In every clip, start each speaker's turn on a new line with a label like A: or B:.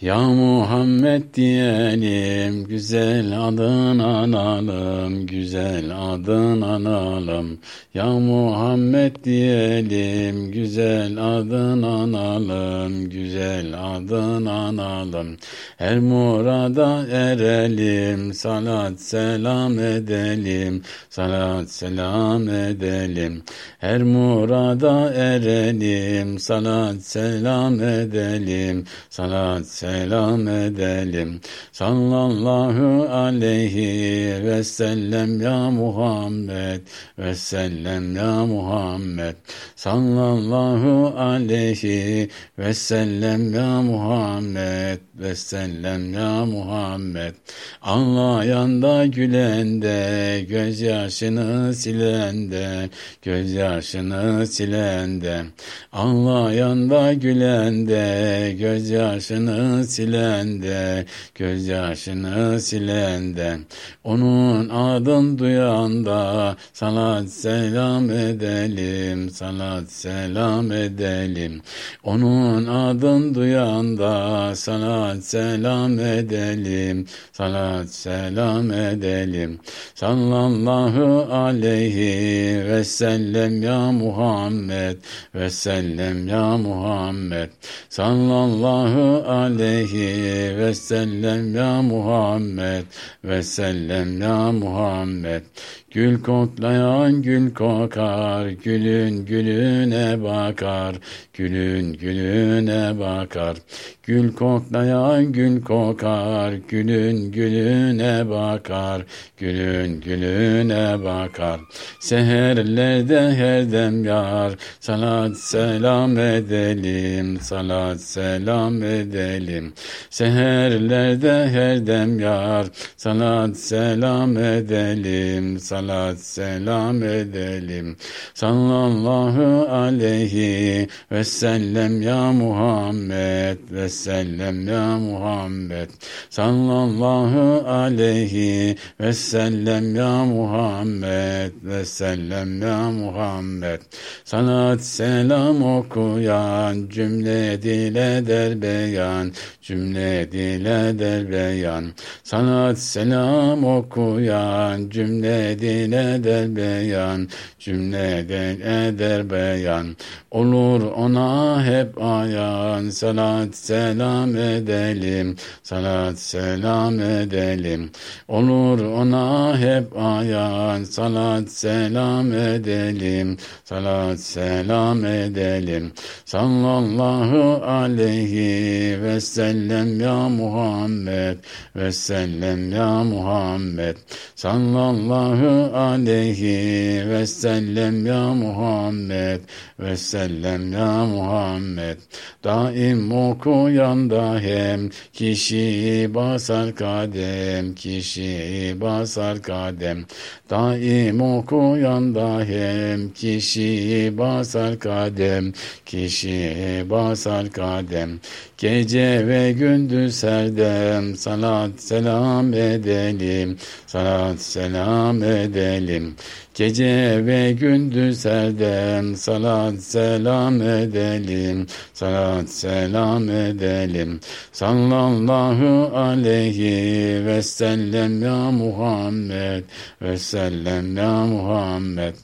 A: Ya Muhammed diyelim, güzel adın analım, güzel adın analım. Ya Muhammed diyelim, güzel adın analım, güzel adın analım. Her murada erelim, salat selam edelim, salat selam edelim. Her murada erelim, salat selam edelim, salat selam edelim. Sallallahu aleyhi ve sellem ya Muhammed ve sellem ya Muhammed. Sallallahu aleyhi ve sellem ya Muhammed ve sellem ya Muhammed. Ağlayan da gülen de, gözyaşını silen de, gözyaşını silen de. Ağlayan da gülen de, gözyaşını silen de, gözyaşını silen de. Onun adını duyan da salat selam edelim, salat selam edelim. Onun adını duyan da salat selam edelim, salat selam edelim. Sallallahu aleyhi ve sellem ya Muhammed ve sellem ya Muhammed. Sallallahu aleyhi ve sellem ya Muhammed ve sellem ya Muhammed. Gül koklayan gül kokar, gülün gülüne bakar, gülün gülüne bakar. Gül koklayan gül kokar, gülün gülüne bakar, gülün gülüne bakar. Seherlerde her dem yar, salat selam edelim, salat selam edelim. Seherlerde her dem yar, salat selam edelim, salat selam edelim. Sallallahu aleyhi ve sellem ya Muhammed ve sellem ya Muhammed. Sallallahu aleyhi ve sellem ya Muhammed ve sellem ya Muhammed. Salat selam okuyan cümle dile der beyan, cümle dile der beyan. Salat selam okuyan cümle dile der beyan, cümle dile der beyan. Olur ona hep ayan, salat selam edelim, salat selam edelim. Olur ona hep ayan, salat selam edelim, salat selam edelim. Sallallahu aleyhi ve sellem ya Muhammed ve sellem ya Muhammed. Sallallahu aleyhi ve sellem ya Muhammed ve sellem ya Muhammed. Daim okuyan da hem kişi basar kadem, kişi basar kadem. Daim okuyan da hem kişi basar kadem, kişi basar kadem. Gece ve gündüz her dem salat selam edelim, salat selam edelim. Gece ve gündüz her dem salat selam edelim, salat selam edelim. Sallallahu aleyhi ve sellem ya Muhammed ve sellem ya Muhammed.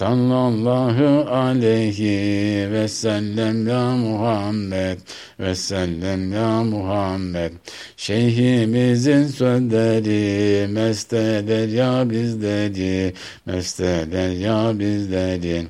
A: Sallallahu aleyhi ve sellem ya Muhammed ve sellem ya Muhammed. Şeyhimizin sözleri mest eder ya bizleri, mest eder ya bizleri.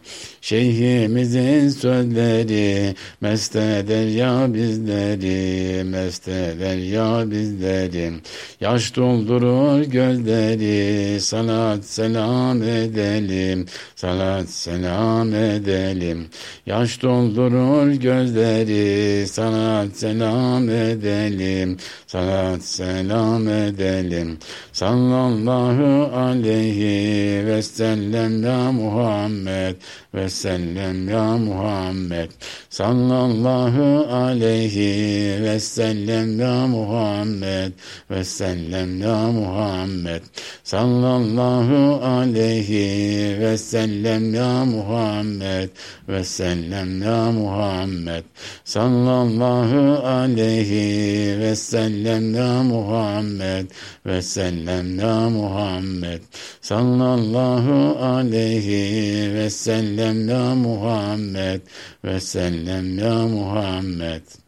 A: Şeyhimizin sözleri mest eder ya bizleri, mest eder ya bizleri. Yaş doldurur gözleri, salat selam edelim, salat selam edelim. Yaş doldurur gözleri, salat selam edelim, salat selam edelim. Sallallahu aleyhi ve sellem sellem ya Muhammed ve sellem ya Muhammed sallallahu aleyhi ve sellem ya Muhammed ve sellem ya Muhammed sallallahu aleyhi ve sellem ya Muhammed ve sellem ya Muhammed sallallahu aleyhi ve sellem ya Muhammed ve sellem ya Muhammed sallallahu aleyhi ve sellem ya Muhammed ve sellem ya Muhammed.